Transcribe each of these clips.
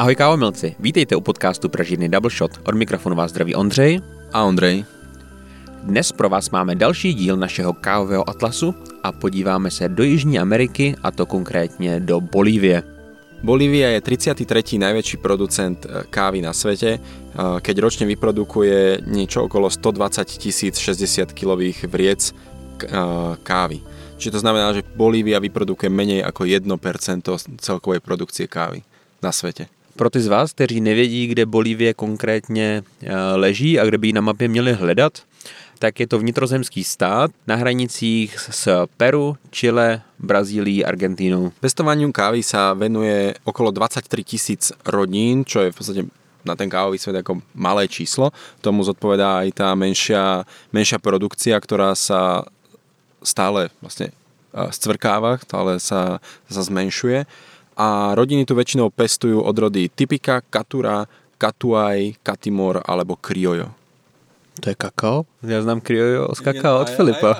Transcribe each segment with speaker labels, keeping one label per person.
Speaker 1: Ahoj kávomilci, vítejte u podcastu Pražírny Double Shot. Od mikrofonu vás zdraví Ondřej
Speaker 2: a Ondřej.
Speaker 1: Dnes pro vás máme další díl našeho kávového atlasu a podíváme se do Jižní Ameriky, a to konkrétně do Bolívie.
Speaker 2: Bolívia je 33. najväčší producent kávy na svete, keď ročne vyprodukuje niečo okolo 120 060 kilových vriec kávy. Čiže to znamená, že Bolívia vyprodukuje menej ako 1% celkovej produkcie kávy na svete.
Speaker 1: Pro ty z vás, kteří nevědí, kde Bolívie konkrétně leží a kde by ji na mapě měli hledat, tak je to vnitrozemský stát na hranicích s Peru, Chile, Brazílií, Argentínou.
Speaker 2: Pestovaniu kávy sa venuje okolo 23 000 rodín, čo je v podstate na ten kávový svet ako malé číslo. Tomu zodpovedá aj tá menšia produkcia, ktorá sa stále vlastne scvrkáva, stále sa zmenšuje. A rodiny tu väčšinou pestujú odrody typika, katura, katuaj, katimor alebo criollo.
Speaker 1: To je kakao? Já znám criollo z kakao od Filipa.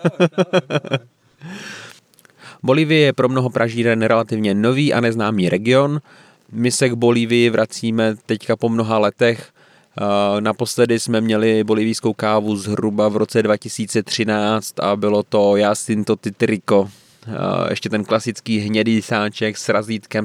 Speaker 1: Bolívie je pro mnoho Pražíren relativně nový a neznámý region. My se k Bolívii vracíme teďka po mnoha letech. Naposledy jsme měli bolívijskou kávu zhruba v roce 2013 a bylo to Jacinto Titrico. Ještě ten klasický hnědý sáček s razítkem.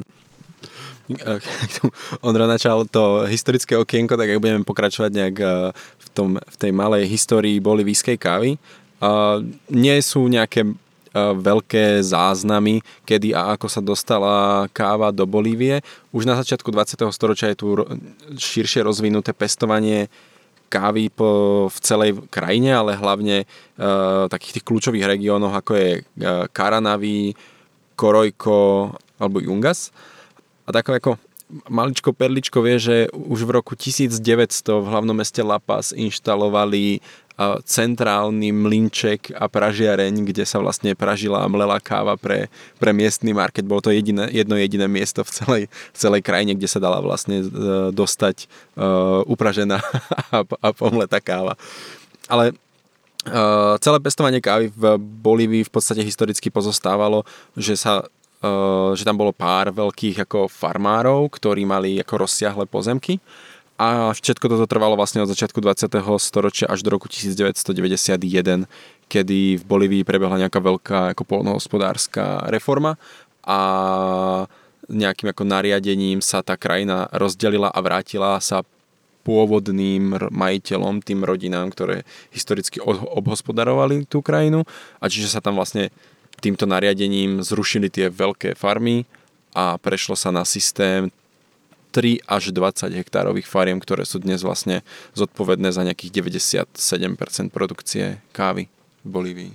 Speaker 2: Ondra načal to historické okienko, tak jak budeme pokračovať nejak v tej malej histórii bolívijskej kávy. Nie sú nejaké veľké záznamy, kedy a ako sa dostala káva do Bolívie. Už na začiatku 20. storočia je tu širšie rozvinuté pestovanie kávy v celej krajine, ale hlavne takých tých kľúčových regiónoch, ako je Caranaví, Coroico alebo Yungas. A takové ako maličko perličko vie, že už v roku 1900 v hlavnom meste La Paz inštalovali centrálny mlynček a pražiareň, kde sa vlastne pražila a mlela káva pre miestny market. Bolo to jedno jediné miesto v celej krajine, kde sa dala vlastne dostať upražená a pomletá káva. Ale celé pestovanie kávy v Bolívii v podstate historicky pozostávalo, že tam bolo pár veľkých ako farmárov, ktorí mali ako rozsiahle pozemky a všetko toto trvalo vlastne od začiatku 20. storočia až do roku 1991, kedy v Bolívii prebehla nejaká veľká ako poľnohospodárska reforma a nejakým ako nariadením sa tá krajina rozdelila a vrátila sa pôvodným majiteľom, tým rodinám, ktoré historicky obhospodarovali tú krajinu, a čiže sa tam vlastne týmto nariadením zrušili tie veľké farmy a prešlo sa na systém 3 až 20 hektárových fariem, ktoré sú dnes vlastne zodpovedné za nejakých 97% produkcie kávy v Bolívii.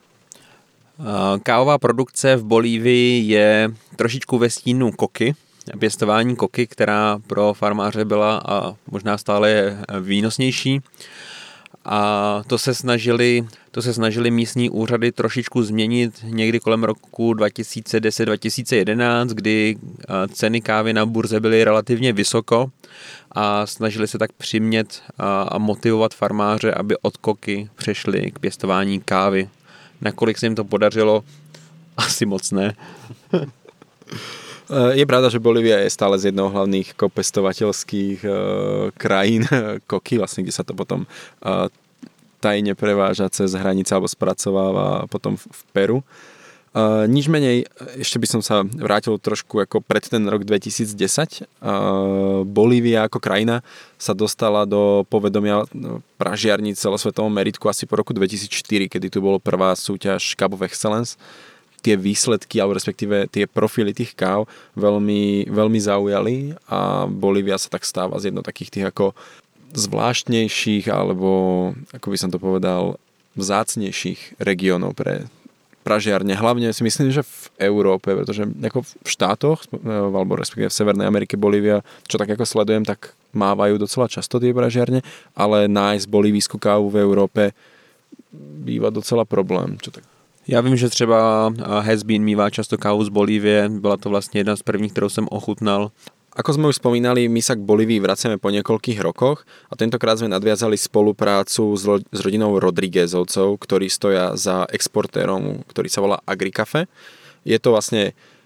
Speaker 1: Kávová produkce v Bolívii je trošičku ve stínu koky, pěstování koky, která pro farmáře byla a možná stále je výnosnější. A to se snažili místní úřady trošičku změnit někdy kolem roku 2010-2011, kdy ceny kávy na burze byly relativně vysoko a snažili se tak přimět a motivovat farmáře, aby od koky přešli k pěstování kávy. Nakolik se jim to podařilo? Asi moc ne.
Speaker 2: Je pravda, že Bolívia je stále z jednoho hlavných pestovateľských krajín koky, vlastne, kde sa to potom tajne preváža cez hranice alebo spracováva potom v Peru. Nič menej, ešte by som sa vrátil trošku ako pred ten rok 2010. Bolívia ako krajina sa dostala do povedomia pražiarní celosvetovom meritku asi po roku 2004, kedy tu bolo prvá súťaž Cup of Excellence. Tie výsledky, alebo respektíve tie profily tých káv veľmi, veľmi zaujali a Bolívia sa tak stáva z jedno takých tých ako zvláštnejších, alebo ako by som to povedal, vzácnejších regiónov pre pražiarne. Hlavne si myslím, že v Európe, pretože ako v štátoch, alebo respektíve v Severnej Amerike, Bolívia, čo tak ako sledujem, tak mávajú docela často tie pražiarne, ale nájsť bolívijskú kávu v Európe býva docela problém. Čo tak?
Speaker 1: Já vím, že třeba Has-Been mívá často kávu z Bolívie, byla to vlastně jedna z prvních, kterou jsem ochutnal.
Speaker 2: Ako sme už spomínali, my sa k Bolívii vraciame po niekoľkých rokoch a tentokrát sme nadviazali spoluprácu s rodinou Rodríguezovcov, ktorí stoja za exportérom, ktorý sa volá Agricafe. Je to vlastne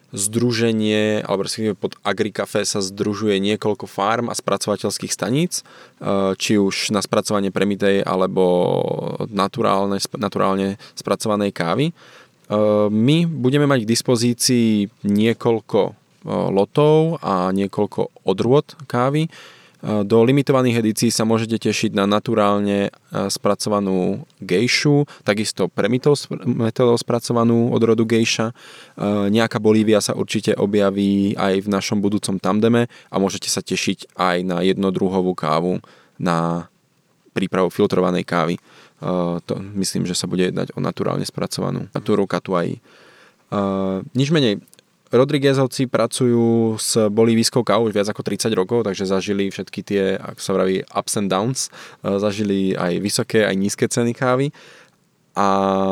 Speaker 2: združenie, alebo respektíve pod Agricafé sa združuje niekoľko farm a spracovateľských staníc, či už na spracovanie premitej alebo naturálne spracovanej kávy. My budeme mať k dispozícii niekoľko lotov a niekoľko odrôd kávy. Do limitovaných edícií sa môžete tešiť na naturálne spracovanú gejšu, takisto metodou spracovanú odrodu gejša. Nejaká Bolívia sa určite objaví aj v našom budúcom tandeme a môžete sa tešiť aj na jednodruhovú kávu na prípravu filtrovanej kávy. To myslím, že sa bude jednať o naturálne spracovanú Naturu Catuai. Nič menej, Rodriguezovci pracujú s bolívijskou kávou už viac ako 30 rokov, takže zažili všetky tie, ako sa vraví, ups and downs. Zažili aj vysoké, aj nízke ceny kávy a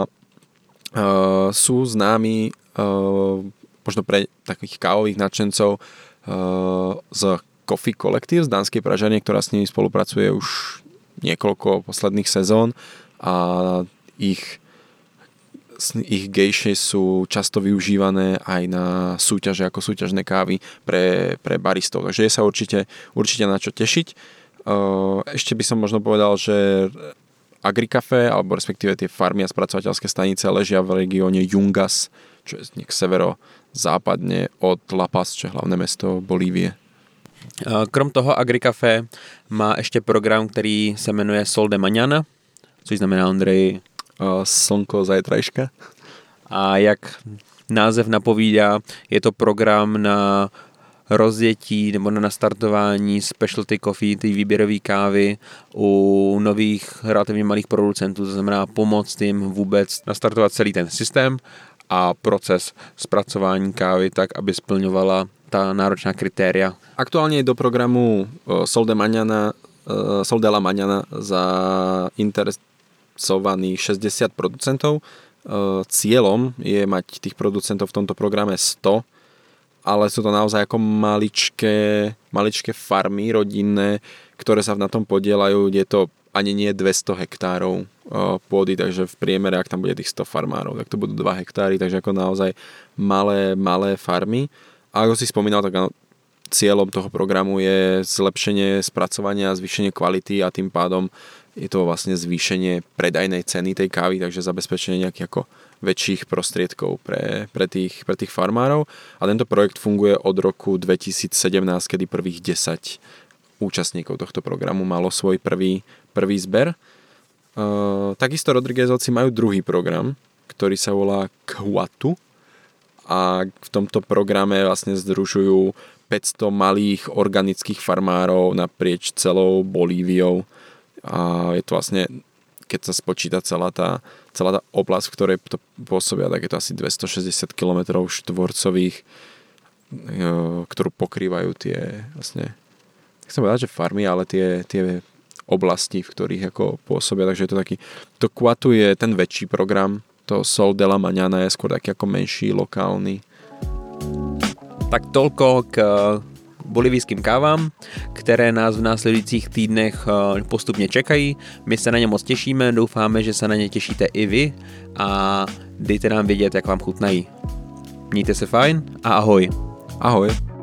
Speaker 2: sú známi možno pre takých kávových nadšencov z Coffee Collective z dánskej pražárne, ktorá s nimi spolupracuje už niekoľko posledných sezón a ich gejše sú často využívané aj na súťaže ako súťažné kávy pre baristov. Takže je sa určite na čo tešiť. Ešte by som možno povedal, že Agricafé, alebo respektíve tie farmy a spracovateľské stanice ležia v regióne Yungas, čo je západne od La Paz, čo je hlavné mesto Bolívie.
Speaker 1: Krom toho Agricafé má ještě program, který se jmenuje Sol de Mañana, což znamená, Ondrej,
Speaker 2: slnko zajtrajška.
Speaker 1: A jak název napovídá, je to program na rozjetí nebo na nastartování specialty coffee, ty výběrové kávy u nových relativně malých producentů, to znamená pomoct jim vůbec nastartovat celý ten systém a proces zpracování kávy tak, aby splňovala ta náročná kritéria.
Speaker 2: Aktuálne je do programu Sol de la Mañana zainteresovaných 60 producentov. Cieľom je mať tých producentov v tomto programe 100, ale sú to naozaj ako maličké farmy rodinné, ktoré sa na tom podielajú. Je to ani nie 200 hektárov pôdy, takže v priemere, ak tam bude tých 100 farmárov, tak to budú 2 hektáry, takže ako naozaj malé farmy. A ako si spomínal, tak cieľom toho programu je zlepšenie spracovania, zvýšenie kvality a tým pádom je to vlastne zvýšenie predajnej ceny tej kávy, takže zabezpečenie nejakých ako väčších prostriedkov pre tých farmárov. A tento projekt funguje od roku 2017, kedy prvých 10 účastníkov tohto programu malo svoj prvý zber. Takisto Rodriguezovci majú druhý program, ktorý sa volá Quatu, a v tomto programe vlastne združujú 500 malých organických farmárov naprieč celou Bolíviou a je to vlastne, keď sa spočíta celá tá oblasť, v ktorej to pôsobia, tak je to asi 260 km štvorcových, ktorú pokrývajú tie vlastne, chcem povedať, že farmy, ale tie oblasti, v ktorých ako pôsobia, takže je to taký, to Quatu je ten väčší program, to Sol de la Mañana je skôr taký ako menší, lokálny.
Speaker 1: Tak toľko k bolivijským kávám, které nás v následujících týdnech postupně čekají. My se na ně moc těšíme, doufáme, že se na ně těšíte i vy a dejte nám vědět, jak vám chutnají. Mějte se fajn a ahoj.
Speaker 2: Ahoj.